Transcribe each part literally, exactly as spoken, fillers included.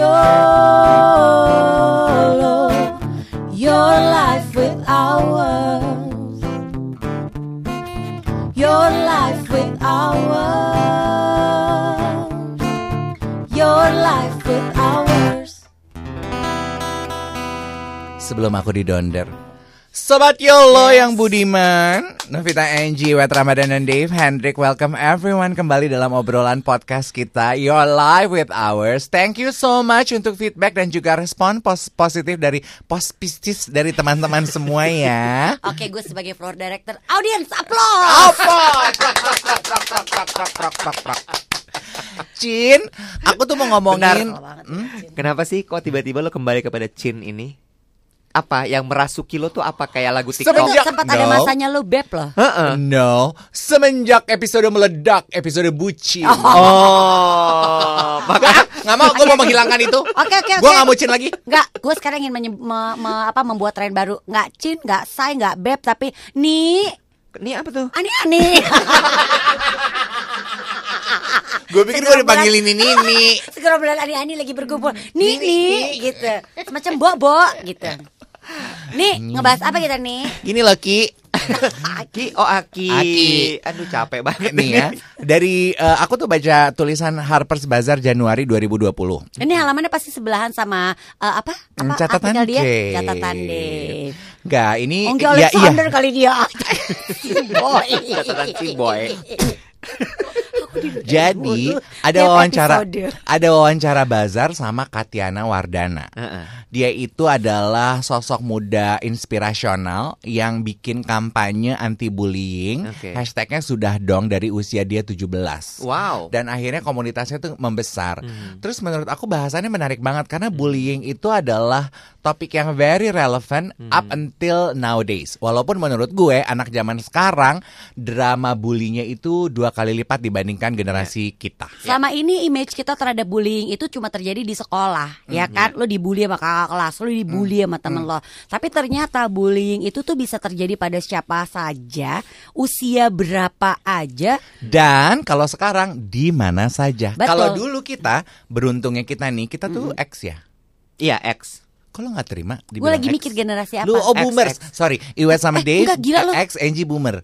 YOLO, your life with ours, your life with ours, your life with ours. Sebelum aku didonder, Sobat YOLO yes. yang budiman, Novita, Angie, Wet Ramadan, dan Dave Hendrik, welcome everyone kembali dalam obrolan podcast kita Your Life with Ours. Thank you so much untuk feedback dan juga respon pos- positif dari positif dari teman-teman semua ya. Oke, gue sebagai floor director, audience applause. Cin, aku tuh mau ngomongin hmm? Kenapa sih kok tiba-tiba lo kembali kepada Cin ini? Apa yang merasuki lo tuh apa kayak lagu TikTok? Semenjak, sempat no. ada masanya lo beb loh. Uh-uh. No, semenjak episode meledak, episode bucin. Oh, oh. Maka nggak mau, gue mau menghilangkan itu. Oke oke oke. Gue nggak mau Cin lagi. Nggak, gue sekarang ingin menye- me- me- apa, membuat tren baru. Nggak Cin, nggak say, nggak beb, tapi nih. Nih apa tuh? Ani-ani. Gue pikir gue dipanggilin ini nih. Segerombolan ani-ani lagi berkumpul. Nih nih gitu. Semacam bo-bo gitu. Nih, ngebahas apa kita nih? Gini loh Ki. Aki, oh Aki. Aki. Aduh capek banget nih ya. Dari uh, aku tuh baca tulisan Harper's Bazaar Januari dua ribu dua puluh. Ini halamannya pasti sebelahan sama uh, apa? Apa catatan dia? Dave. Catatan Dave. Enggak, ini Onggi ya, Alexander iya. kali dia. Boy. Catatan si boy. Jadi ada wawancara ada wawancara Bazar sama Katiana Wardana. Uh-uh. Dia itu adalah sosok muda inspirasional yang bikin kampanye anti bullying. Okay. Hashtagnya sudah dong dari usia dia tujuh belas. Wow. Dan akhirnya komunitasnya tuh membesar. Hmm. Terus menurut aku bahasannya menarik banget karena bullying itu adalah topik yang very relevant hmm. up until nowadays. Walaupun menurut gue anak zaman sekarang drama bullyingnya itu dua kali lipat dibandingkan generasi yeah. kita. Selama ini image kita terhadap bullying itu cuma terjadi di sekolah, mm-hmm. ya kan? Lo dibully sama kakak kelas, lo dibully mm-hmm. sama temen mm-hmm. lo. Tapi ternyata bullying itu tuh bisa terjadi pada siapa saja, usia berapa aja. Dan kalau sekarang di mana saja. Betul. Kalau dulu kita, beruntungnya kita nih, kita tuh mm-hmm. X ya. Iya, X. Kalau nggak terima, gue lagi X. mikir generasi apa? Lu oh boomers, X, X. Sorry, Iwet sama eh, Dave, enggak, gila, X, Angie boomer.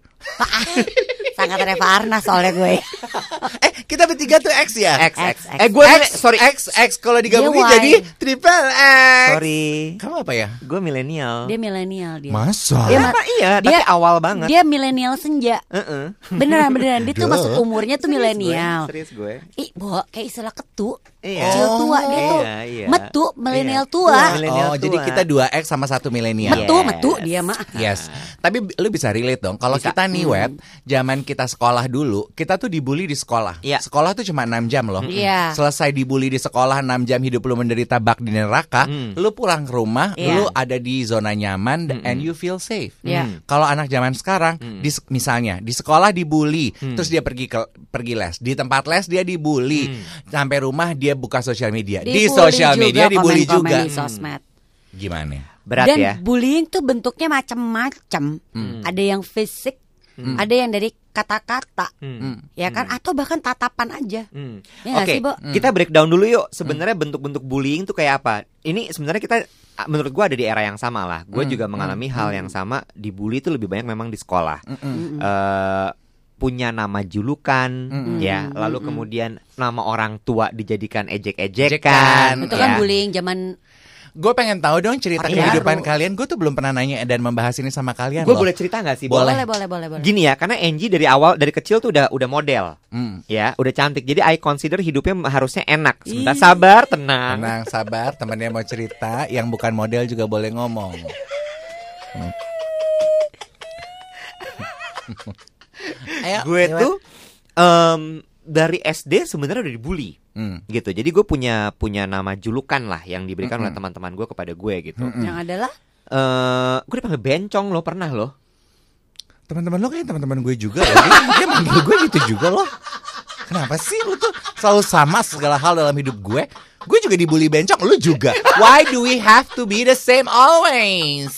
Sangat Reva Arnas soalnya gue. Eh kita bertiga tuh X ya? X, X, X. Eh gue X, sorry X, X kalau digabungin jadi triple X. Sorry. Kamu apa ya? Gue milenial. Dia milenial dia. Masa? Dia ma- iya, dia, tapi awal banget. Dia milenial senja. Uh-uh. Beneran beneran dia tuh masuk umurnya tuh milenial. Serius gue. Ih, Bo, kayak istilah ketu. Iya. Kecil tua dia tuh. Iya, iya. Metu milenial iya. tua. Milenial oh, tua. jadi kita dua X sama satu milenial. Metu, Yes. metu dia mah. Yes. Tapi lu bisa relate dong. Kalau kita nih Wet, zaman kita sekolah dulu, kita tuh dibully di sekolah. Iya. Sekolah tuh cuma enam jam loh. Iya. Selesai dibully di sekolah enam jam, hidup lu menderita bak di neraka, Mm. lu pulang ke rumah, Iya. lu ada di zona nyaman Mm-mm. and you feel safe. Iya. Kalau anak zaman sekarang, Mm. di, misalnya di sekolah dibully, Mm. terus dia pergi ke pergi les. Di tempat les dia dibully. Mm. Sampai rumah dia buka sosial media. Dibully di sosial media juga, dibully komen-komen juga. di sosmed. Gimana? Berat Dan ya. bullying tuh bentuknya macam-macam. Hmm. Ada yang fisik, Hmm. ada yang dari kata-kata, Hmm. ya kan? Atau bahkan tatapan aja. Hmm. Ya nggak Oke, sih, Bo? kita breakdown dulu yuk. Sebenarnya bentuk-bentuk bullying tuh kayak apa? Ini sebenarnya kita, menurut gue ada di era yang sama lah. Gue Hmm. juga mengalami Hmm. hal yang sama. Dibully itu lebih banyak memang di sekolah. Mm-mm. Eh, punya nama julukan, Mm-mm. ya. Lalu Mm-mm. kemudian nama orang tua dijadikan Ejekan. ejek-ejekan. Itu kan ya. bullying zaman. Gue pengen tahu dong cerita Orang kehidupan baru. kalian. Gue tuh belum pernah nanya dan membahas ini sama kalian Gue loh. boleh cerita nggak sih? Bo? Boleh. Boleh, boleh, boleh, boleh. Gini ya, karena Angie dari awal dari kecil tuh udah udah model, Hmm. ya, udah cantik. Jadi I consider hidupnya harusnya enak. Sebentar, Ih. sabar, tenang. Tenang, sabar. Temennya mau cerita, yang bukan model juga boleh ngomong. Hmm. Ayo, Gue Iwet. tuh em, dari S D sebenarnya udah dibully, Hmm. gitu. Jadi gue punya punya nama julukan lah yang diberikan Mm-mm. oleh teman-teman gue kepada gue gitu. Mm-mm. Yang adalah Eh, gue dipanggil bencong loh, pernah loh. Teman-teman lo kayak teman-teman gue juga loh. Dia, dia manggil gue gitu juga loh. Kenapa sih lu tuh selalu sama segala hal dalam hidup gue? Gue juga dibully bencong, lu juga. Why do we have to be the same always?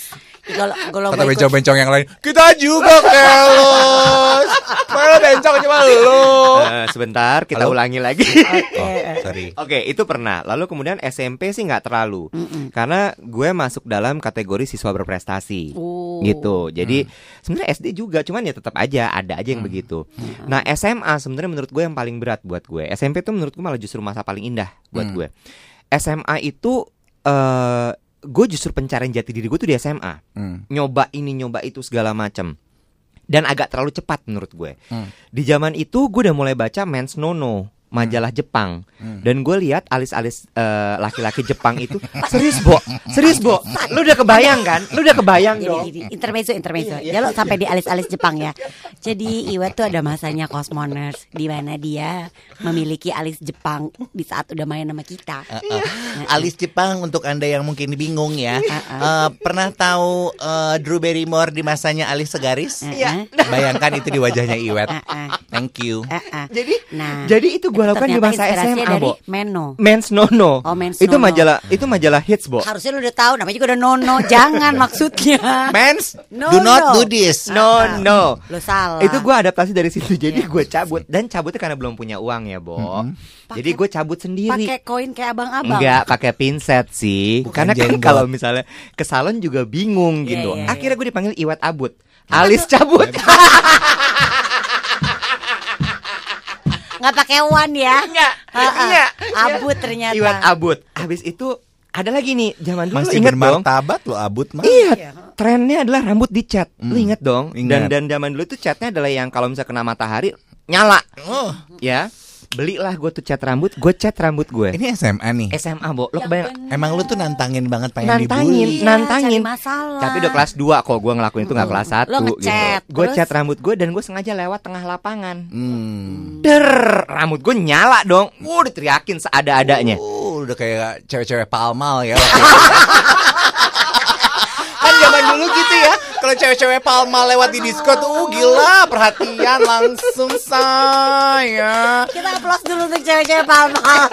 Kalau kalau Kata mau ikut bencong-bencong yang lain, kita juga kelos. Mana bencong cuma lu. Eh, sebentar, kita Halo? ulangi lagi. Oke. Oh, sorry. Oke, itu pernah. Lalu kemudian S M P sih nggak terlalu, Mm-mm. karena gue masuk dalam kategori siswa berprestasi. Oh. Gitu. Jadi sebenarnya S D juga, cuman ya tetap aja ada aja yang begitu. Nah, S M A sebenarnya menurut gue yang paling berat buat gue. S M P tuh menurut gue malah justru masa paling indah buat Hmm. gue. S M A itu eh gue justru pencarian jati diri gue tuh di S M A. Hmm. Nyoba ini, nyoba itu segala macam. Dan agak terlalu cepat menurut gue. Hmm. Di zaman itu gue udah mulai baca Men's Nono, majalah Jepang. Hmm. Dan gue lihat alis-alis eh, laki-laki Jepang itu serius, Bo. Serius, Bo. Lu udah kebayang kan? Lu udah kebayang Jadi dong. gini, intermezzo intermezzo. Iya, iya. Ya lo sampai di alis-alis Jepang ya. Jadi Iwet tuh ada masanya Cosmoners di mana dia memiliki alis Jepang di saat udah main sama kita. Uh, alis Jepang untuk Anda yang mungkin bingung ya. Uh-uh. Uh, pernah tahu uh, Drew Barrymore di masanya alis segaris? Uh-uh. Bayangkan itu di wajahnya Iwet. Uh-uh. Thank you. Uh-uh. Jadi Nah, jadi itu gue lakukan di ternyata masa S M inspirasinya A, dari Bo. Meno. Men's Nono. Oh, Men's itu Nono. majalah itu majalah hits, Bo. Harusnya lu udah tahu namanya juga udah Nono. Jangan maksudnya. Mens, No, do not no. do this. No, no. Lo salah. Itu gue adaptasi dari situ. Jadi Iya. gue cabut. Dan cabutnya karena belum punya uang ya, Bo. Jadi gue cabut sendiri. pakai koin kayak abang-abang. Enggak, pakai pinset sih. Bukan Karena kan jenggot. kalau misalnya ke salon juga bingung Iya, gitu. iya, Akhirnya gue dipanggil Iwet Abut. Alis cabut. Nggak pakai wan ya. Enggak. Ha-ha. Enggak. Abut ternyata. Iwet Abut. Habis itu ada lagi nih, zaman dulu Masih ingat dong. bermartabat lo abut mah. Iya, trennya adalah rambut dicat. Lu inget dong? Ingat. Dan dan zaman dulu tuh catnya adalah yang kalau misalnya kena matahari nyala. Oh, Ya. Belilah gue tuh cat rambut, gue cat rambut gue. ini S M A nih. S M A, Bo. Lo Yang kebayang? bener. Emang lu tuh nantangin banget pengen Nantangin. dibully. Iya, nantangin. cari masalah. Tapi udah kelas dua kok gue ngelakuin itu nggak kelas satu Lo ngecat, gitu. Gue terus? cat rambut gue dan gue sengaja lewat tengah lapangan. Hmm. Der, rambut gue nyala dong. Uh, diteriakin seada-adanya. Uh, udah kayak cewek-cewek palmal ya. waktu itu. Kan zaman dulu gitu ya. Kalau cewek-cewek palmal lewat di disco tuh uh, gila, perhatian langsung saya. Kita applause dulu untuk cewek-cewek palmal.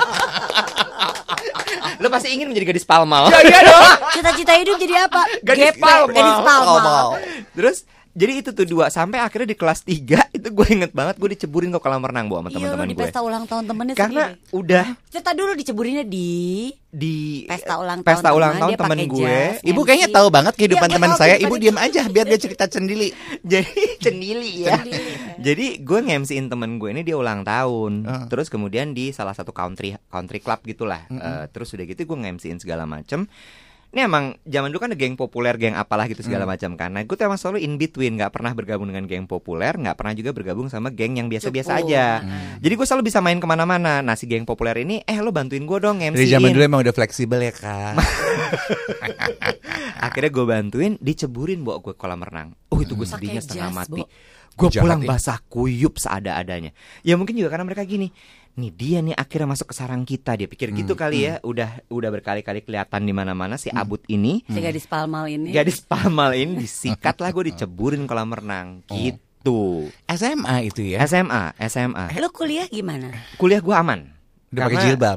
Lo pasti ingin menjadi gadis palmal. Ya iya dong. Cita-cita hidup jadi apa? Gadis Gepek, palmal. Gadis palmal. Palmal. Terus jadi itu tuh dua sampai akhirnya di kelas tiga itu gue inget banget gue diceburin ke kolam renang, Bu, sama Iya, lo teman-teman di gue. pesta ulang tahun temennya Karena sendiri. udah Cerita dulu diceburinnya di di pesta ulang tahun. pesta ulang teman, tahun dia temen pakai gue. jas, Ibu M C. kayaknya tahu banget kehidupan Iya, gue teman tahu saya. kehidupan Ibu dia. diam aja biar dia cerita sendiri. Jadi cenili ya. Jadi gue nge-M C-in temen gue ini dia ulang tahun. Uh. Terus kemudian di salah satu country country club gitulah. Eh, terus udah gitu gue nge-M C-in segala macem. Ini emang zaman dulu kan ada geng populer, geng apalah gitu segala macam kan. Nah, gue tuh emang selalu in between, nggak pernah bergabung dengan geng populer, nggak pernah juga bergabung sama geng yang biasa-biasa Cukup. aja. Jadi gue selalu bisa main kemana-mana. Nah, si geng populer ini, eh lo bantuin gue dong nge-M C-in. Dari zaman dulu emang udah fleksibel ya kak. Akhirnya gue bantuin, diceburin bawa gue kolam renang. Oh itu gue Pakai sedihnya setengah jas, mati. Bo. Gue Jahat pulang ya. basah kuyup seada-adanya. Ya mungkin juga karena mereka gini. Nih dia nih akhirnya masuk ke sarang kita. Dia pikir gitu kali ya. Udah udah berkali-kali kelihatan di mana-mana si Abut ini. Si gadis palmal ini. Gadis palmal ini disikat lah, gue diceburin kolam renang. Gitu. S M A itu ya. S M A, S M A. Lo kuliah gimana? Kuliah gue aman. Udah pakai Karena- jilbab.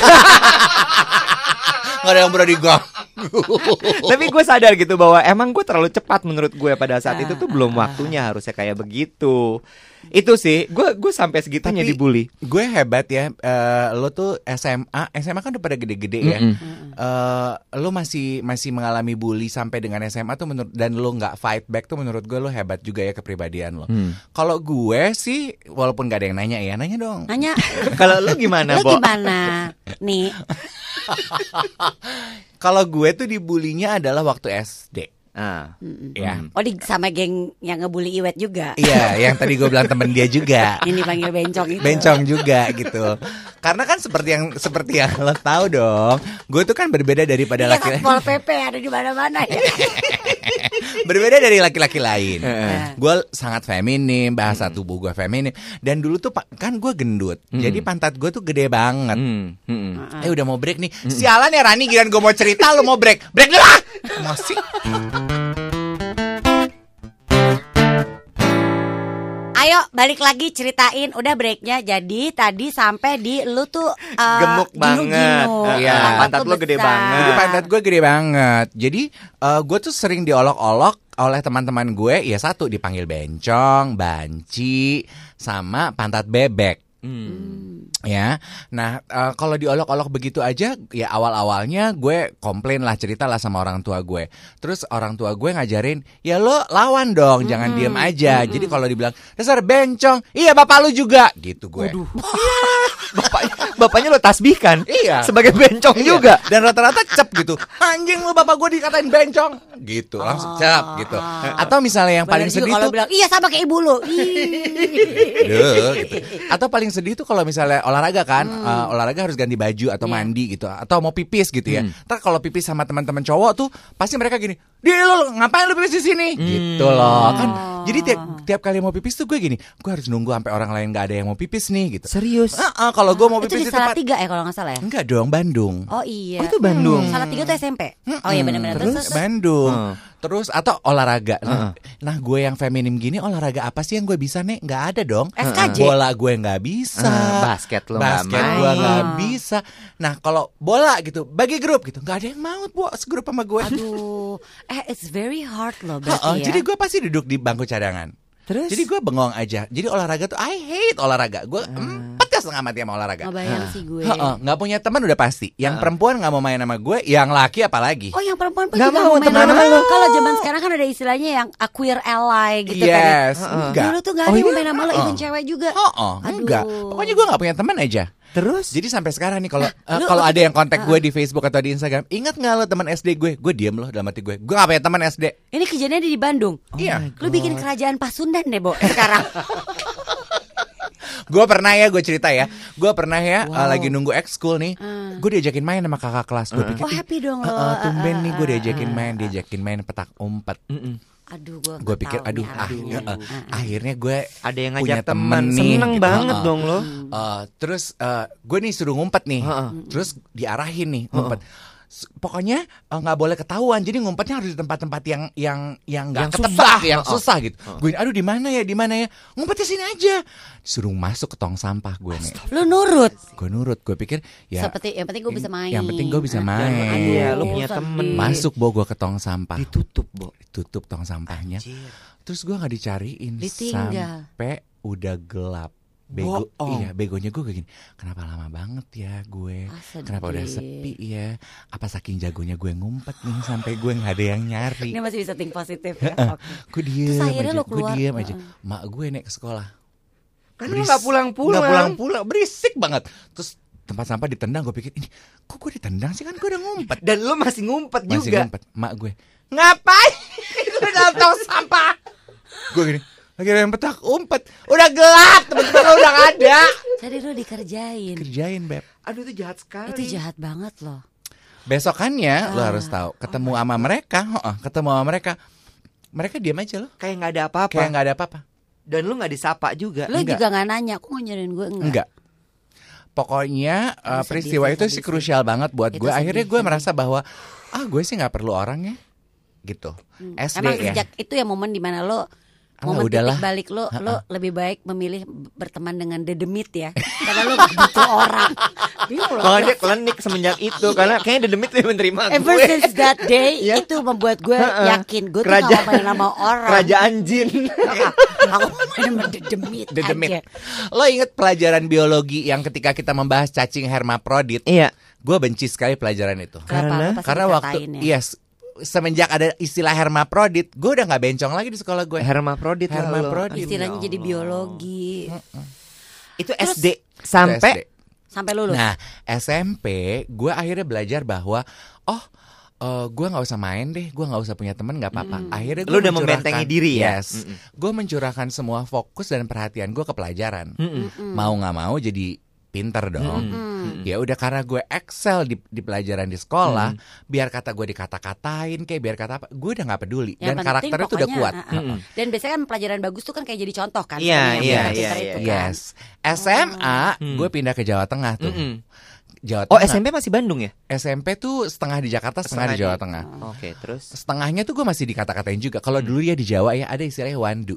Gak ada yang berani diganggu. Tapi gue sadar gitu bahwa emang gue terlalu cepat menurut gue pada saat itu tuh belum waktunya harusnya kayak begitu. Itu sih, gue gue sampai segitunya Tapi dibully. Gue hebat ya. Eh, lo tuh S M A, S M A kan udah pada gede-gede ya. Mm-mm. Eh, lo masih masih mengalami bully sampai dengan S M A tuh menurut dan lo nggak fight back tuh menurut gue lo hebat juga ya kepribadian lo. Hmm. Kalau gue sih walaupun gak ada yang nanya ya, nanya dong. Nanya, Kalau lu gimana, lo Bo? gimana? Nih, Kalau gue tuh dibulinya adalah waktu S D. Ah. Ya. oh di sama geng yang ngebully Iwet juga. Iya, yang tadi gue bilang temen dia juga. Ini dipanggil bencong itu. Bencong juga gitu. Karena kan seperti yang seperti yang lo tahu dong, gue tuh kan berbeda daripada Iya, laki-laki. Satpol P P ada di mana-mana ya. Berbeda dari laki-laki lain. Heeh. Gue sangat feminim, bahasa tubuh gue feminim. Dan dulu tuh pa- kan gue gendut, jadi pantat gue tuh gede banget. Hmm. Hmm. Eh udah mau break nih. Sialan ya Rani, giliran gue mau cerita lo mau break. Break dulu ah. Masih. Ayo balik lagi ceritain. Udah breaknya. Jadi tadi sampai di lu tuh uh, gemuk banget. Iya. Uh, pantat lu gede banget. Jadi pantat gue gede banget. Jadi uh, gue tuh sering diolok-olok oleh teman-teman gue. Ya satu dipanggil bencong, banci, sama pantat bebek. Hmm. Ya, nah uh, kalau diolok-olok begitu aja, ya awal-awalnya gue komplain lah, cerita lah sama orang tua gue. Terus orang tua gue ngajarin, ya lo lawan dong, hmm. jangan diem aja. Hmm. Jadi kalau dibilang dasar bencong, iya bapak lu juga, gitu gue. bapaknya, bapaknya lo tasbihkan, iya, sebagai bencong iya. juga. Dan rata-rata cep gitu, anjing lu bapak gue dikatain bencong, gitu langsung cep gitu. Atau misalnya yang Bener paling sedih tuh, bilang, iya sama kayak ibu lu. Duh, gitu. Atau paling sedih tuh kalau misalnya olahraga kan, hmm. uh, olahraga harus ganti baju atau yeah. mandi gitu, atau mau pipis gitu ya. Hmm. Ntar kalau pipis sama teman-teman cowok tuh pasti mereka gini, dia lo ngapain lu pipis di sini? Hmm. Gitu loh kan. Jadi tiap tiap kali mau pipis tuh gue gini, gue harus nunggu sampai orang lain nggak ada yang mau pipis nih gitu. Serius? Uh, uh, kalau gue mau itu pipis di Salatiga ya kalau nggak salah ya? Enggak dong, Bandung. Oh iya. Oh, itu Bandung. Hmm. Salatiga tuh S M P. Hmm. Oh iya benar-benar. Terus, terus Bandung. Hmm. Terus atau olahraga. Nah, uh-uh. nah gue yang feminim gini olahraga apa sih yang gue bisa nih? Nggak ada dong. S K J. Bola gue nggak bisa. Uh, basket lo nggak Basket main. gue nggak bisa. Nah kalau bola gitu bagi grup gitu nggak ada yang mau bu segrup sama gue. Aduh, eh it's very hard loh berarti uh-uh, ya. Jadi gue pasti duduk di bangku cadangan. Terus? Jadi gue bengong aja. Jadi olahraga tuh I hate olahraga. Gue uh. empet ya setengah mati sama olahraga. Ngebayang uh. sih gue. Uh-uh, nggak punya teman udah pasti. Yang uh. perempuan nggak mau main sama gue, yang laki apalagi. Oh yang perempuan pun juga mau main sama lo. Kalau zaman sekarang kan ada istilahnya yang a queer ally gitu yes, kan. Uh-uh. Enggak. Dulu tuh nggak ada oh, yang iya? main sama lo, uh-uh. even cewek juga. Oh, oh enggak. Pokoknya gue nggak punya teman aja. Terus? Jadi sampai sekarang nih kalau nah, uh, kalau ada yang kontak uh, gue di Facebook atau di Instagram, ingat nggak lo teman S D gue? Gue diem loh dalam hati gue. Gue nggak punya teman S D. Ini kejadiannya di Bandung. Oh iya. Lu bikin kerajaan Pasundan deh, Bo, sekarang. Gue pernah ya, gue cerita ya. Gue pernah ya wow. uh, lagi nunggu ekskul nih. Uh. Gue diajakin main sama kakak kelas. Gue uh. pikir, oh happy dong lo. Uh, uh, tumben uh, nih gue diajakin main, diajakin main petak umpet. Uh-uh. Aduh, gue gue pikir, aduh, akhirnya, uh, akhirnya gue ada yang punya ngajak temen nih, seneng gitu. banget uh, dong lo. Uh, terus uh, gue nih suruh ngumpet nih, uh-uh. terus diarahin nih ngumpet. Uh-uh. Pokoknya nggak uh, boleh ketahuan, jadi ngumpetnya harus di tempat-tempat yang yang yang nggak ketebak, susah. yang susah gitu. Uh-uh. Gue, aduh di mana ya, di mana ya? Ngumpetnya sini aja. Suruh masuk ke tong sampah gue nih. Lu nurut? Gue nurut, gue pikir ya. Seperti yang penting gue bisa main. Yang penting gue bisa main. Iya, lu punya temen. Masuk bo gue ke tong sampah. Ditutup bo, ditutup tong sampahnya. Anjir. Terus gue nggak dicariin Ditinggal. sampai udah gelap. Bego, oh. iya begonya gue kayak gini. Kenapa lama banget ya gue? Ah, kenapa udah sepi ya? Apa saking jagonya gue ngumpet nih sampai gue nggak ada yang nyari? Ini masih bisa think positif ya. Okay. Gue diem aja, gue diem aja. Mak gue naik ke sekolah. Kan lu nggak pulang-pulang? Nggak pulang-pulang, berisik banget. Terus tempat sampah ditendang, gue pikir ini kok gue ditendang sih, kan gue udah ngumpet. Dan lu masih ngumpet masih juga. Ngumpet. Mak gue, ngapain? Itu dalam tong sampah. Gue gini, lagi ada yang petak umpet. Udah gelap, temen-temen lo udah gak ada. Jadi lo dikerjain. Kerjain, Beb. Aduh itu jahat sekali. Itu jahat banget loh. Besokannya ah. lo harus tahu, ketemu oh sama mereka, oh, ketemu sama mereka, mereka diam aja lo. Kayak nggak ada apa-apa. Kayak nggak ada apa-apa. Dan lu nggak disapa juga. Lo juga nggak nanya, aku nggak nyariin gue enggak. Enggak. Pokoknya uh, peristiwa sedih, itu sih krusial banget buat gue. Akhirnya gue merasa bahwa ah gue sih nggak perlu orang ya, gitu. Hmm. S D Emang ya. sejak itu ya momen dimana lo momen udahlah. titik balik lo, Ha-ha. lo lebih baik memilih berteman dengan dedemit ya, karena lo gak butuh orang. Makanya dia klinik semenjak itu, karena kayaknya dedemit lebih menerima gue. Ever since that day, ya? Itu membuat gue yakin gue tuh gak mau main sama orang. Kerajaan jin. Aku main sama dedemit, dedemit. aja. Lo inget pelajaran biologi yang ketika kita membahas cacing hermaprodit? Iya. Gue benci sekali pelajaran itu. Karena, karena waktu, ya? yes. Semenjak ada istilah hermaprodit, gue udah nggak bencong lagi di sekolah gue. Hermaprodit, hermaprodit. Istilahnya jadi biologi. Itu S D sampai S D. Sampai lulus. Nah, S M P gue akhirnya belajar bahwa oh uh, gue nggak usah main deh, gue nggak usah punya teman, nggak apa-apa. Mm. Akhirnya gue lu udah membentengi diri ya. Yes, gue mencurahkan semua fokus dan perhatian gue ke pelajaran. Mm-mm. Mau nggak mau jadi pinter dong. Mm-hmm. Ya udah, karena gue excel di, di pelajaran di sekolah, mm. biar kata gue dikata-katain kayak biar kata apa, gue udah nggak peduli. Yang dan karakternya tuh udah kuat. Uh, uh. Dan biasanya kan pelajaran bagus tuh kan kayak jadi contoh kan. Iya iya iya. Yes. S M A oh. gue pindah ke Jawa Tengah tuh. Mm-hmm. Jawa Tengah. Oh, S M P masih Bandung ya? S M P tuh setengah di Jakarta, setengah, setengah di Jawa Tengah. Oh. Oke, okay, terus setengahnya tuh gue masih dikata-katain juga. Kalau hmm. dulu ya di Jawa ya ada istilahnya wandu.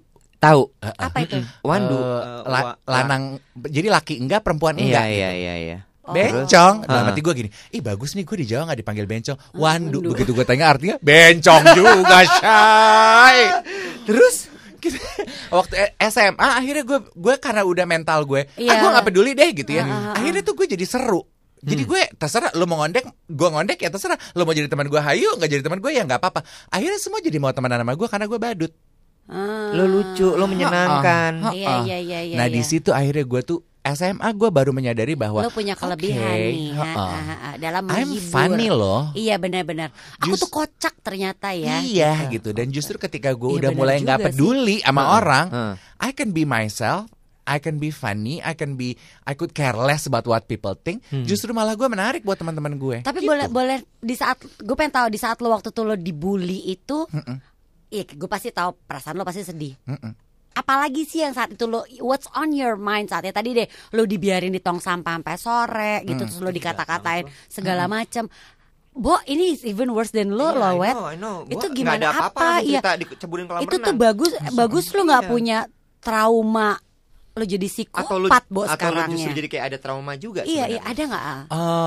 Tahu. Apa itu? Wandu. Eh, Eh, la- wa- lanang, jadi laki enggak, perempuan Iya enggak. iya gitu. iya iya. Bencong. Terus? Dalam Ah. hati gue gini, ih bagus nih gue di Jawa gak dipanggil bencong. Wandu. Begitu gue tanya artinya, bencong juga, Shay. Terus Gitu. Waktu S M A akhirnya gue gue karena udah mental gue, ah Iya. gue nggak peduli deh gitu ya. Ah, ah, ah. Akhirnya tuh gue jadi seru. Jadi gue terserah lo mau ngondek, gue ngondek ya terserah. Lo mau jadi teman gue, hayu, nggak jadi teman gue ya nggak apa-apa. Akhirnya semua jadi mau temenan sama gue karena gue badut. Ah. lo lucu, lo menyenangkan. Ah, Iya ah. iya iya iya. Nah di iya. situ akhirnya gue tuh S M A gue baru menyadari bahwa lo punya kelebihan oke, nih ha, ha-ha. ha, ha, ha, dalam I'm menghibur. funny loh. Iya benar-benar. Aku Just- tuh kocak ternyata ya. Iya gitu. Dan justru ketika gue Iya, udah benar mulai nggak juga peduli sama Heeh, orang, heeh. I can be myself, I can be funny, I can be, I could care less about what people think. Justru malah gue menarik buat teman-teman gue. Tapi Gitu. boleh boleh di saat gue pengen tahu di saat lo waktu tuh lo dibully itu, iya gue pasti tahu perasaan lo pasti sedih. Mm-mm. Apalagi sih yang saat itu lo, what's on your mind saatnya tadi deh lo dibiarin di tong sampah sampai sore gitu, terus lo dikata-katain segala macam. Bo, ini is even worse than lo Iya, loh, I Wet. know, I know. Gua Itu nggak gimana ada apa-apa, apa? langsung Iya. cerita dicebulin kolam Itu tuh renang. bagus, bagus lo nggak Iya. punya trauma lo jadi Atau lo psikopat Bo atau lo sekarang justru ya. jadi kayak ada trauma juga Iya, iya, sebenarnya. ada nggak? Al?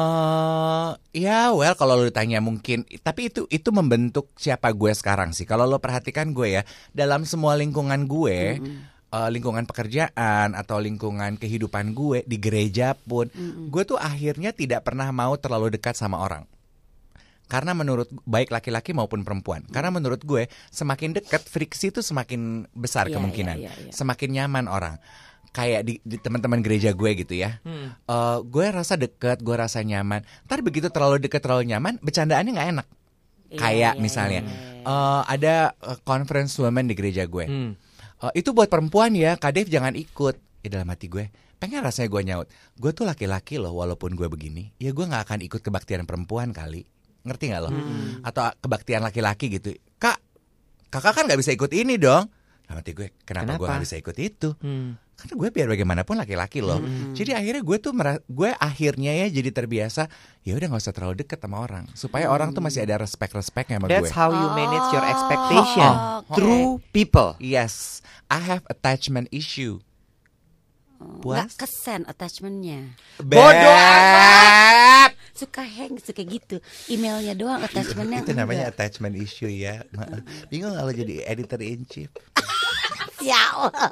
Eh, ya well kalau lo ditanya mungkin, tapi itu itu membentuk siapa gue sekarang sih. Kalau lo perhatikan gue ya, dalam semua lingkungan gue, eh, lingkungan pekerjaan atau lingkungan kehidupan gue di gereja pun, gue tuh akhirnya tidak pernah mau terlalu dekat sama orang. Karena menurut baik laki-laki maupun perempuan, karena menurut gue semakin dekat friksi itu semakin besar Iya, kemungkinan, iya, iya, iya. semakin nyaman orang. Kayak di, di teman-teman gereja gue gitu ya, Eh, gue rasa deket, gue rasa nyaman. Ntar begitu terlalu deket, terlalu nyaman, bercandaannya nggak enak. Iya, Kayak iya, misalnya iya, iya. eh, ada eh, conference women di gereja gue. Hmm. Eh, itu buat perempuan ya, Kak Dev jangan ikut. Ya dalam hati gue, pengen rasanya gue nyaut. Gue tuh laki-laki loh, walaupun gue begini, ya gue nggak akan ikut kebaktian perempuan kali. Ngerti nggak lo? Atau kebaktian laki-laki gitu. Kak, kakak kan nggak bisa ikut ini dong. Dalam hati gue, kenapa, gue Kenapa? nggak bisa ikut itu? Hmm. Karena gue biar bagaimanapun laki-laki loh. Jadi akhirnya gue tuh mera- gue akhirnya ya jadi terbiasa. Ya udah nggak usah terlalu deket sama orang, supaya orang tuh masih ada respect-respectnya sama That's gue. how you manage your expectation Oh, oke. through people. Yes, I have attachment issue. Nggak Puas? kesen attachmentnya. Bodoh amat. Suka hang, suka gitu. Emailnya doang attachmentnya. Itu namanya enggak. attachment issue ya. Maaf. Bingung kalau jadi editor in chief. Ya Allah.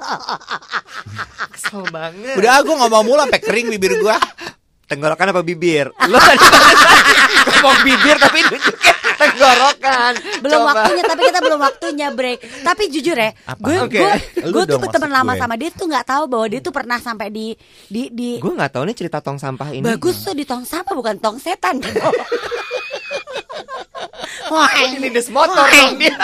Kesel banget. Udah aku ngomong mulu sampai kering bibir gua. Tenggorokan apa bibir? Lo tadi ngomong bibir tapi nunjukin tenggorokan. Belum Coba. waktunya, tapi kita belum waktunya break. Tapi jujur ya, Apa? gue Oke. gue Lu gue tuh dong teman maksud lama gue. sama dia tuh nggak tahu bahwa dia tuh pernah sampai di di di Gue nggak tahu nih cerita tong sampah ini. bagus tuh di tong sampah bukan tong setan. Wah, Ini des motor dong dia.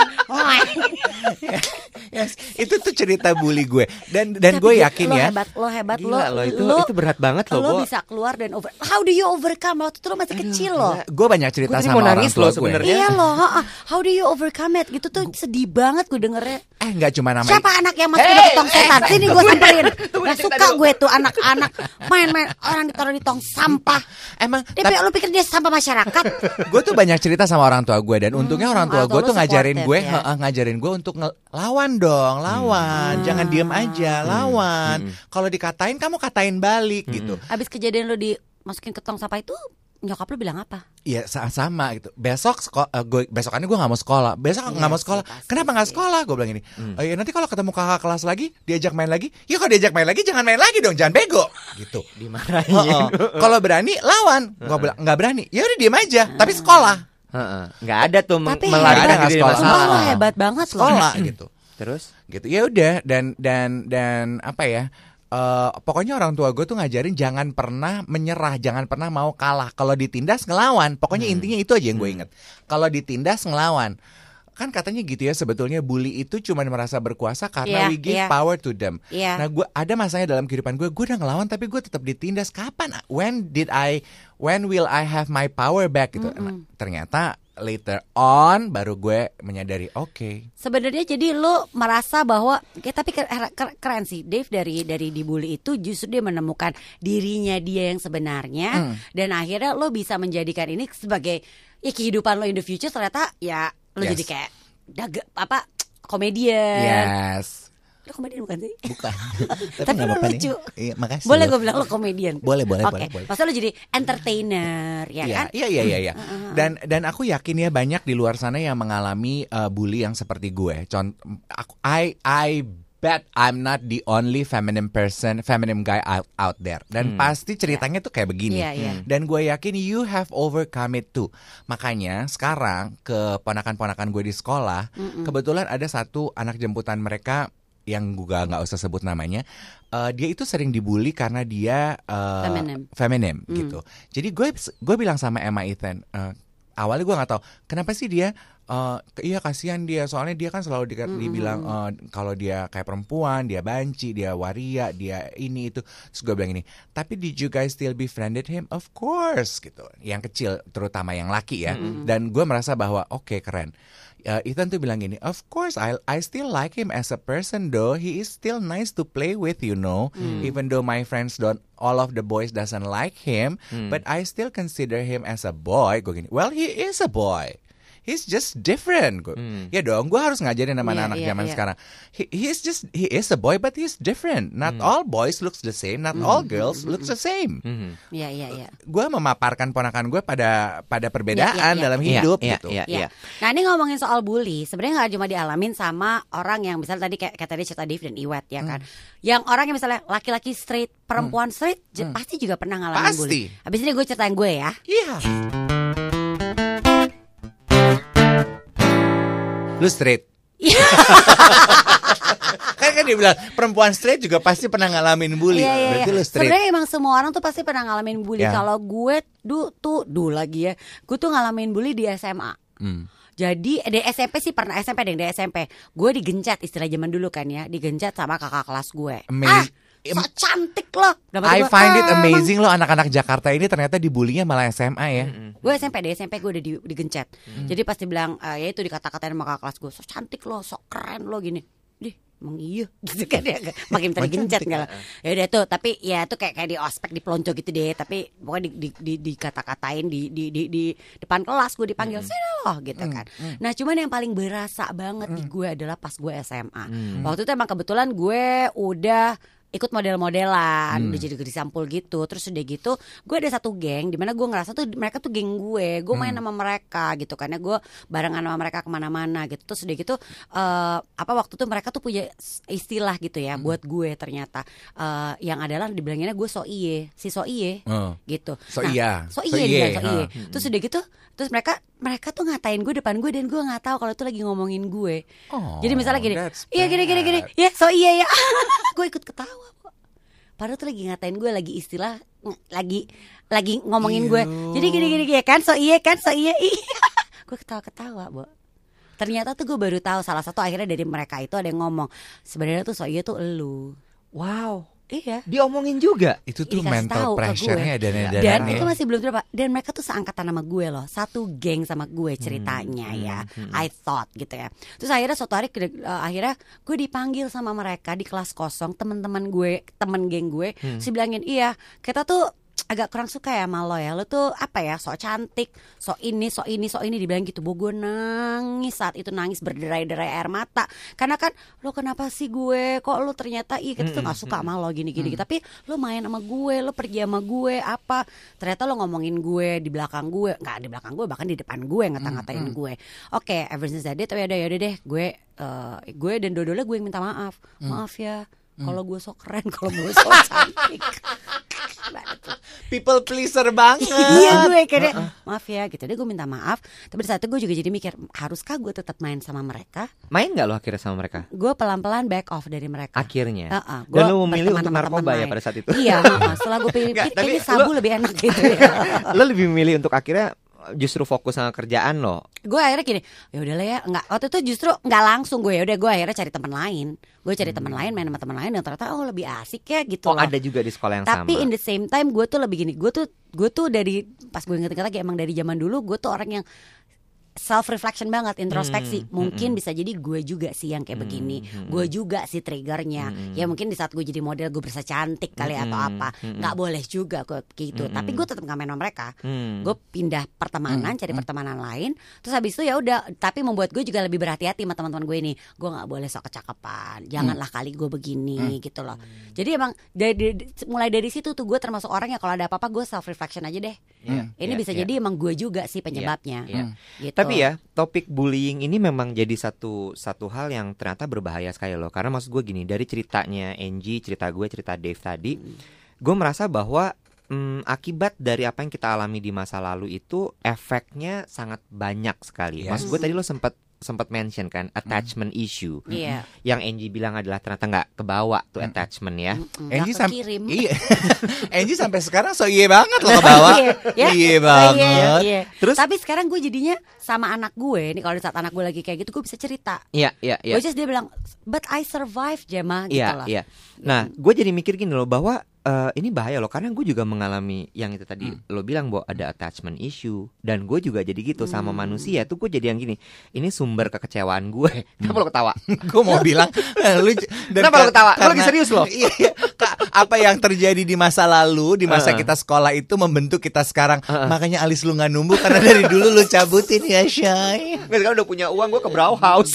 Yes, itu tuh cerita bully gue. Dan dan Tapi gue dia- yakin lo ya. hebat, lo hebat, Gila lo lo, itu lo, itu berat banget lo, lo Bo. bisa keluar dan over. How do you overcome? Waktu itu lo masih kecil loh. Gue banyak cerita Gue tadi sama mau orang nangis tua loh gue. sebenarnya. Iya loh, ha-ha. How do you overcome it? Gitu tuh sedih banget gue dengernya. Eh nggak cuma nama. Siapa anak yang masukin ke tong setan? Sini gue samperin. Gak suka gue tuh anak-anak main-main orang ditaruh di tong sampah. Emang Dia pikir- lu pikir dia sampah masyarakat? gue tuh banyak cerita sama orang tua gue dan untungnya orang tua orang gue tua tuh lu ngajarin supportive gue, ya. heeh, ngajarin gue untuk nge- lawan dong, lawan, jangan diem aja, lawan. Kalau dikatain kamu katain balik gitu. Abis kejadian lu dimasukin ke tong sampah itu, nyokap lu bilang apa? Iya sama gitu. Besok seko- eh, gue besokannya gue nggak mau sekolah. Besok nggak Iya mau sih, sekolah. pasti Kenapa nggak sih. sekolah? Gue bilang ini. "Oh iya, nanti kalau ketemu kakak kelas lagi, diajak main lagi. Ya kalau diajak main lagi jangan main lagi dong, jangan bego." Gitu. Dimarahin. Heeh. Kalau berani lawan. Gue bilang nggak berani. Ya udah diem aja. Tapi sekolah. Heeh. Nggak ada tuh meng- Tapi melarikan hebat. diri dari Sekolah. Sumpah masalah. lo hebat banget loh. Sekolah gitu. Terus? Gitu. Ya udah dan dan dan apa ya? Eh, pokoknya orang tua gue tuh ngajarin jangan pernah menyerah, jangan pernah mau kalah. Kalau ditindas ngelawan. Pokoknya intinya itu aja yang gue inget. Kalau ditindas ngelawan. Kan katanya gitu ya, sebetulnya bully itu cuma merasa berkuasa karena Iya, we give iya. power to them. Iya. Nah, gue ada masanya dalam kehidupan gue, gue udah ngelawan tapi gue tetap ditindas. Kapan? When did I? When will I have my power back? Gitu. Nah, ternyata later on baru gue menyadari, oke. Sebenarnya jadi lu merasa bahwa ya, tapi keren, keren sih Dave dari dari dibully itu justru dia menemukan dirinya dia yang sebenarnya dan akhirnya lo bisa menjadikan ini sebagai ya kehidupan lo in the future. Ternyata ya lo Yes. jadi kayak daga apa komedian. Yes. Lo komedian bukan sih? Bukan. Tapi nggak lo apa-apa nih. lucu. Iya, makasih. Boleh lo. gue bilang lo komedian. Boleh, boleh, Oke. boleh, boleh. Masa lo jadi entertainer, ya Iya, kan? iya, iya, iya, iya. Dan dan aku yakin ya banyak di luar sana yang mengalami uh, bully yang seperti gue. Contoh, aku, I I bet I'm not the only feminine person, feminine guy out out there. Dan Hmm. pasti ceritanya tuh kayak begini. Iya, iya. Dan gue yakin you have overcome it too. Makanya sekarang ke ponakan-ponakan gue di sekolah, kebetulan ada satu anak jemputan mereka yang gue nggak usah sebut namanya. Uh, dia itu sering dibully karena dia uh, Feminim. feminim gitu. Jadi gue gue bilang sama Emma Ethan, uh, awalnya gue nggak tahu kenapa sih dia. Uh, iya kasihan dia, soalnya dia kan selalu di, dibilang uh, kalau dia kayak perempuan, dia banci, dia waria, dia ini itu. Terus gue bilang ini, tapi did you guys still befriended him? Of course gitu. Yang kecil, terutama yang laki ya. Mm-hmm. Dan gue merasa bahwa oke okay, keren. Uh, Ethan tuh bilang gini, of course I I still like him as a person though. He is still nice to play with, you know. Mm. Even though my friends don't, all of the boys doesn't like him, mm. but I still consider him as a boy. Gue gini, well he is a boy. He's just different. Hmm. Ya dong, gue harus ngajarin sama yeah, anak-anak yeah, zaman yeah. sekarang. He, he's just he is a boy, but he's different. Not hmm. all boys looks the same. Not hmm. all girls looks the same. Iya, iya, iya. Gue memaparkan ponakan gue pada pada perbedaan yeah, yeah, yeah. dalam hidup yeah, gitu. yeah, yeah. Nah ini ngomongin soal bully, sebenarnya nggak cuma dialamin sama orang yang misalnya tadi kayak, kayak tadi cerita Dave dan Iwet ya kan. Hmm. Yang orang yang misalnya laki-laki straight, perempuan hmm. straight, hmm. pasti juga pernah ngalamin pasti. bully. Habis ini gue ceritain gue ya. Iya. Lu straight. kan kan dia bilang perempuan straight juga pasti pernah ngalamin bully. Iya, iya, Berarti iya. lu straight. Sebenarnya emang semua orang tuh pasti pernah ngalamin bully. Ya. Kalau gue du, tuh dulu lagi ya, gue tuh ngalamin bully di S M A. Hmm. Jadi di S M P sih pernah, S M P deh, di S M P gue digencet, istilah zaman dulu kan ya, digencet sama kakak kelas gue. Amazing. Ah, so cantik loh. I find it amazing loh anak-anak Jakarta ini ternyata dibulinya malah S M A ya. Mm-hmm. Gue S M P deh, S M P gue udah di, digencet. Mm-hmm. Jadi pas dibilang uh, ya itu dikata-katain sama kakak kelas gue, so cantik lo, so keren lo gini. Dih, emang iya gitu kan ya. Makin tergencet enggak lah. Ya udah tuh, tapi ya tuh kayak kayak di ospek, di pelonco gitu deh, tapi pokoknya di di di, di kata-katain di di di di depan kelas gue dipanggil mm-hmm. sini loh gitu kan. Mm-hmm. Nah, cuman yang paling berasa banget mm-hmm. di gue adalah pas gue S M A. Mm-hmm. Waktu itu emang kebetulan gue udah ikut model-modelan, hmm. udah jadi gadis sampul gitu. Terus udah gitu, gue ada satu geng dimana gue ngerasa tuh mereka tuh geng gue. Gue main hmm. sama mereka gitu, karena gue barengan sama mereka kemana-mana gitu. Terus udah gitu, uh, apa waktu tuh mereka tuh punya istilah gitu ya hmm. buat gue ternyata. Uh, yang adalah dibilanginnya gue so iye, si so iye uh. gitu. So nah, iya, so iye, so iye. So iye. Uh. Terus udah gitu, terus mereka mereka tuh ngatain gue depan gue dan gue nggak tahu kalau itu lagi ngomongin gue. Oh, jadi misalnya gini, iya gini gini gini, ya so iya ya, gue ikut ketawa. Padahal tuh lagi ngatain gue, lagi istilah, lagi lagi ngomongin gue. Jadi gini gini ya kan, so iya kan, so iya iya. Gue ketawa-ketawa, Bo. Ternyata tuh gue baru tahu salah satu akhirnya dari mereka itu ada yang ngomong, sebenarnya tuh so iya tuh elu. Wow. Iya. Diomongin juga. Itu tuh Dikasih mental pressure-nya dan dan Dan itu masih belum berapa. Dan mereka tuh seangkatan sama gue loh. Satu geng sama gue ceritanya hmm, ya. Hmm, hmm. I thought gitu ya. Terus akhirnya suatu hari uh, akhirnya gue dipanggil sama mereka di kelas kosong, teman-teman gue, temen geng gue, hmm. si bilangin, "Iya, kita tuh agak kurang suka ya sama lo ya. Lo tuh apa ya, sok cantik, sok ini, sok ini, sok ini," dibilang gitu. Bo, gue nangis saat itu, nangis berderai-derai air mata. Karena kan lo kenapa sih gue, kok lo ternyata ih kita tuh gak suka sama lo gini-gini. Tapi lo main sama gue, lo pergi sama gue, apa. Ternyata lo ngomongin gue di belakang gue. Gak di belakang gue, bahkan di depan gue ngata-ngatain gue. Oke, okay, ever since that day, tapi yaudah, yaudah deh. Gue, uh, gue dan dua-duanya gue yang minta maaf. Maaf ya, kalau gue sok keren, kalau gue sok cantik. People pleaser banget. Iya gue kayak uh-uh. maaf ya gitu deh, gue minta maaf. Tapi di saat itu gue juga jadi mikir, haruskah gue tetap main sama mereka? Main gak lo akhirnya sama mereka? Gue pelan-pelan back off dari mereka. Akhirnya uh-uh. Dan lo memilih untuk narkoba ya pada saat itu? Iya, uh-uh. Setelah gue pilih, kayaknya sabu lo, lebih enak gitu ya. Lo lebih memilih untuk akhirnya justru fokus sama kerjaan lo. Gue akhirnya gini, ya udahlah ya, nggak, waktu itu justru nggak langsung gue, ya udah gue akhirnya cari teman lain. Gue cari hmm. teman lain, main sama teman lain yang ternyata oh lebih asik ya gitu. Oh loh. Ada juga di sekolah yang Tapi sama. Tapi in the same time gue tuh lebih gini, gue tuh gue tuh dari pas gue inget-inget lagi emang dari zaman dulu gue tuh orang yang self reflection banget, introspeksi. Hmm, Mungkin hmm, bisa jadi gue juga sih yang kayak Hmm, begini. hmm. Gue juga sih triggernya. Hmm. Ya mungkin di saat gue jadi model gue berasa cantik kali Hmm, atau apa. hmm. Nggak boleh juga gue gitu. Hmm. Tapi gue tetap nggak main sama mereka. Hmm. Gue pindah pertemanan, cari pertemanan lain. Terus habis itu ya udah. Tapi membuat gue juga lebih berhati-hati sama teman-teman gue ini. Gue nggak boleh sok kecakapan. Janganlah kali gue begini gitu loh. Jadi emang dari, mulai dari situ tuh gue termasuk orang yang kalau ada apa-apa gue self reflection aja deh. Iya, Ini iya, bisa iya. jadi emang gue juga sih penyebabnya. Iya, Gitu. Tapi ya topik bullying ini memang jadi satu satu hal yang ternyata berbahaya sekali loh. Karena maksud gue gini, dari ceritanya Angie, cerita gue, cerita Dave tadi, gue merasa bahwa hmm, akibat dari apa yang kita alami di masa lalu itu efeknya sangat banyak sekali. Yes. Maksud gue tadi lo sempat sempat mention kan attachment issue. Iya. Yang Angie bilang adalah ternyata nggak kebawa tuh attachment ya. Mm, Angie nggak sampai kekirim. iya. Angie sampai sekarang so iye banget loh ke bawah. Iya, ya. Iye Oh, banget. iya, iya. Terus? Tapi sekarang gue jadinya sama anak gue nih, kalau di saat anak gue lagi kayak gitu gue bisa cerita. Iya, iya, iya. Which is dia bilang, but I survive Gemma gitu Iya, loh. iya. Nah, gue jadi mikir gini loh bahwa eh, ini bahaya loh karena gue juga mengalami yang itu tadi lo bilang bahwa ada attachment issue dan gue juga jadi gitu sama manusia tuh gue jadi yang gini. Ini sumber kekecewaan gue. Kenapa lo ketawa? Gue mau bilang eh, lu j- dan Kenapa lo ka- ketawa? Lo karena- lagi serius lo? Iya, iya. Ka- apa yang terjadi di masa lalu, di masa Uh-uh. kita sekolah itu membentuk kita sekarang. Uh-uh. Makanya alis lu nggak numbuh karena dari dulu lu cabutin ya, Shay. Nggak, sekarang udah punya uang gue ke Brauhaus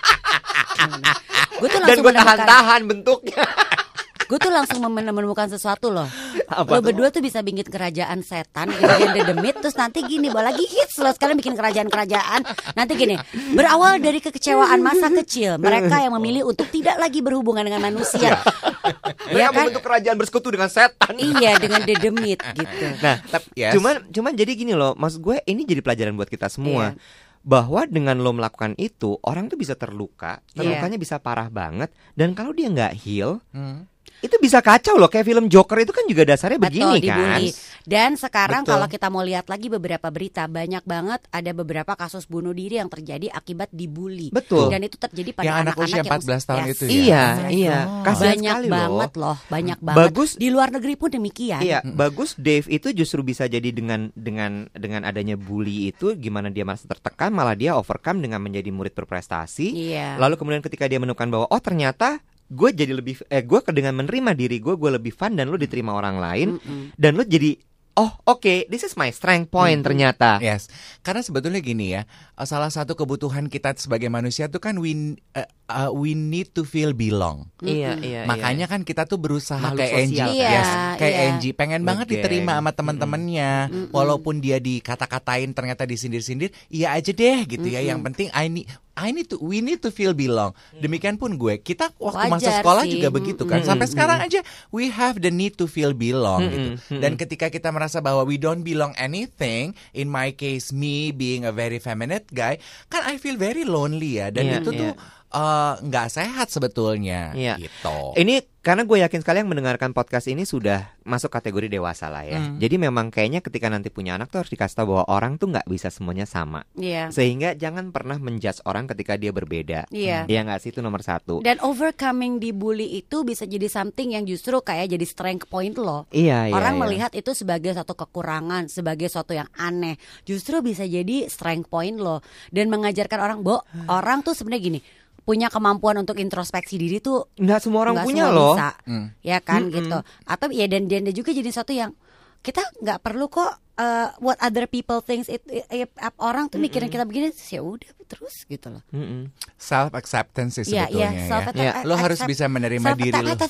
Gue tuh dan langsung gue menemukan, tahan-tahan bentuknya. gue tuh langsung mem- menemukan sesuatu loh. Apa Lo tuh? berdua tuh bisa bikin kerajaan setan, bikin The Demit, terus nanti gini, bawa lagi hits lo sekarang bikin kerajaan-kerajaan. Nanti gini, berawal dari kekecewaan masa kecil, mereka yang memilih untuk tidak lagi berhubungan dengan manusia. Mereka Ya kan? membentuk kerajaan bersekutu dengan setan. Iya, dengan The Demit gitu. Nah, tapi Yes. cuman cuman jadi gini loh, maksud gue ini jadi pelajaran buat kita semua. Iya. Bahwa dengan lo melakukan itu, orang tuh bisa terluka, Iya. terlukanya bisa parah banget, dan kalau dia nggak heal, Hmm. itu bisa kacau loh. Kayak film Joker itu kan juga dasarnya begini Betul, kan. dibully. Dan sekarang Betul. kalau kita mau lihat lagi beberapa berita, banyak banget ada beberapa kasus bunuh diri yang terjadi akibat dibully. Betul. Dan itu terjadi pada Yang anak anak-anak usia yang empat belas tahun yes. itu ya? Iya, Oh. iya. Oh. Kasihan Banyak sekali banget loh. loh, banyak banget. Bagus. Di luar negeri pun demikian. Iya, bagus Dave itu justru bisa jadi dengan dengan dengan adanya bully itu gimana dia merasa tertekan, malah dia overcome dengan menjadi murid berprestasi. Iya. Lalu kemudian ketika dia menemukan bahwa oh ternyata gue jadi lebih eh gue dengan menerima diri gue gue lebih fun dan lo diterima orang lain Mm-mm. dan lo jadi oh oke this is my strength point ternyata. Yes, karena sebetulnya gini ya, uh, salah satu kebutuhan kita sebagai manusia tuh kan we uh, uh, we need to feel belong. Iya iya. Makanya kan kita tuh berusaha Makhluk kayak Angie, sosial. Iya, yes, kayak iya. Angie, pengen banget Ngegeng. diterima sama teman-temannya, walaupun dia dikata-katain ternyata disindir-sindir, iya aja deh gitu ya. Yang penting I need I need to, we need to feel belong. Demikian pun gue, kita waktu masa Wajar sekolah sih. juga begitu kan. Mm-mm. Sampai sekarang aja we have the need to feel belong gitu. Mm-mm. Dan ketika kita merasa bahwa we don't belong anything, in my case me being a very feminine guy, kan I feel very lonely ya. Dan Iya, itu iya. tuh eh, nggak sehat sebetulnya. Iya. Gitu. Ini karena gue yakin sekali yang mendengarkan podcast ini sudah masuk kategori dewasa lah ya. Hmm. Jadi memang kayaknya ketika nanti punya anak tuh harus dikasih tahu bahwa orang tuh nggak bisa semuanya sama. Iya. Sehingga jangan pernah menjudge orang ketika dia berbeda. Iya. Dia nggak sih itu nomor satu. Dan overcoming dibully itu bisa jadi something yang justru kayak jadi strength point lo. Iya iya. Orang iya. melihat itu sebagai suatu kekurangan, sebagai suatu yang aneh. Justru bisa jadi strength point lo. Dan mengajarkan orang, Bo, orang tuh sebenarnya gini, punya kemampuan untuk introspeksi diri tuh Nggak semua orang nggak punya semua loh. bisa, Hmm. ya kan Mm-mm. gitu. Atau ya dan dan dia juga jadi sesuatu yang kita nggak perlu kok uh, what other people thinks it, it- it- orang tuh mikirin kita begini, ya udah terus gitu loh. Mm-mm. Self acceptance sih Iya, sebetulnya iya, ya. self Iya. Lo harus bisa menerima diri lo.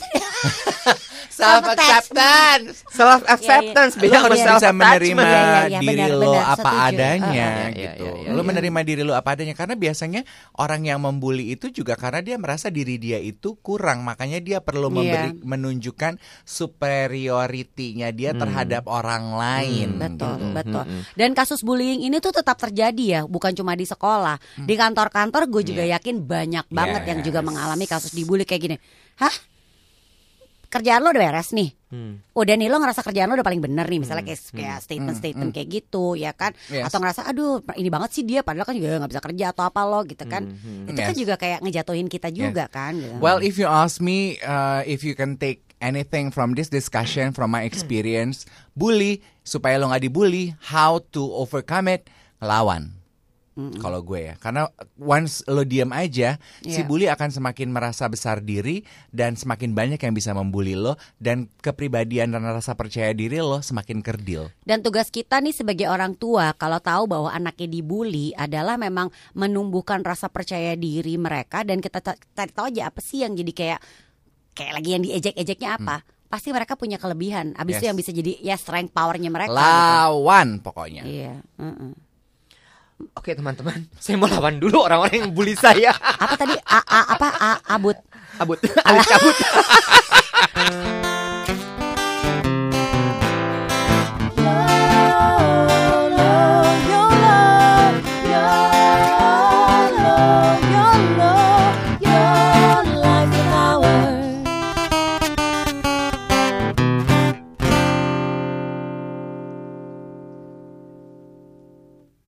Self acceptance. Self acceptance Iya, iya. beda Lo sama harus self bisa menerima Iya, iya, iya, diri benar, lo benar, apa setuju. adanya Ah, iya, iya, gitu. iya, iya, Lo iya. menerima diri lo apa adanya karena biasanya orang yang membuli itu juga karena dia merasa diri dia itu kurang, makanya dia perlu Iya. memberi menunjukkan superioritinya dia Hmm. terhadap orang lain. Betul, gitu. betul. Dan kasus bullying ini tuh tetap terjadi ya, bukan cuma di sekolah, di kantor-kantor gue juga yakin banyak banget yang juga Yes. mengalami kasus dibully kayak gini. Hah? Kerjaan lo udah beres nih? Hmm. Udah nih lo ngerasa kerjaan lo udah paling bener nih, misalnya kayak, kayak statement-statement kayak gitu ya kan? Yes. Atau ngerasa aduh ini banget sih dia, padahal kan juga nggak bisa kerja atau apa lo gitu kan? Hmm, Itu kan Yes. juga kayak ngejatuhin kita juga kan? Gitu. Well, if you ask me, uh, if you can take anything from this discussion, from my experience, bully supaya lo nggak dibully, how to overcome it, ngelawan. Mm-mm. Kalau gue ya, karena once lo diam aja, si Iya. bully akan semakin merasa besar diri dan semakin banyak yang bisa membuli lo, dan kepribadian dan rasa percaya diri lo semakin kerdil. Dan tugas kita nih sebagai orang tua, kalau tahu bahwa anaknya dibully, adalah memang menumbuhkan rasa percaya diri mereka, dan kita ta- cari tahu aja apa sih yang jadi kayak kayak lagi yang diejek-ejeknya apa. Pasti mereka punya kelebihan. Abis Yes. itu yang bisa jadi ya strength powernya mereka. gitu. Lawan pokoknya. Iya. mm-mm. Oke teman-teman, saya mau lawan dulu orang-orang yang bully saya. Apa tadi? A, a apa? A, abut. Abut, alis kabut.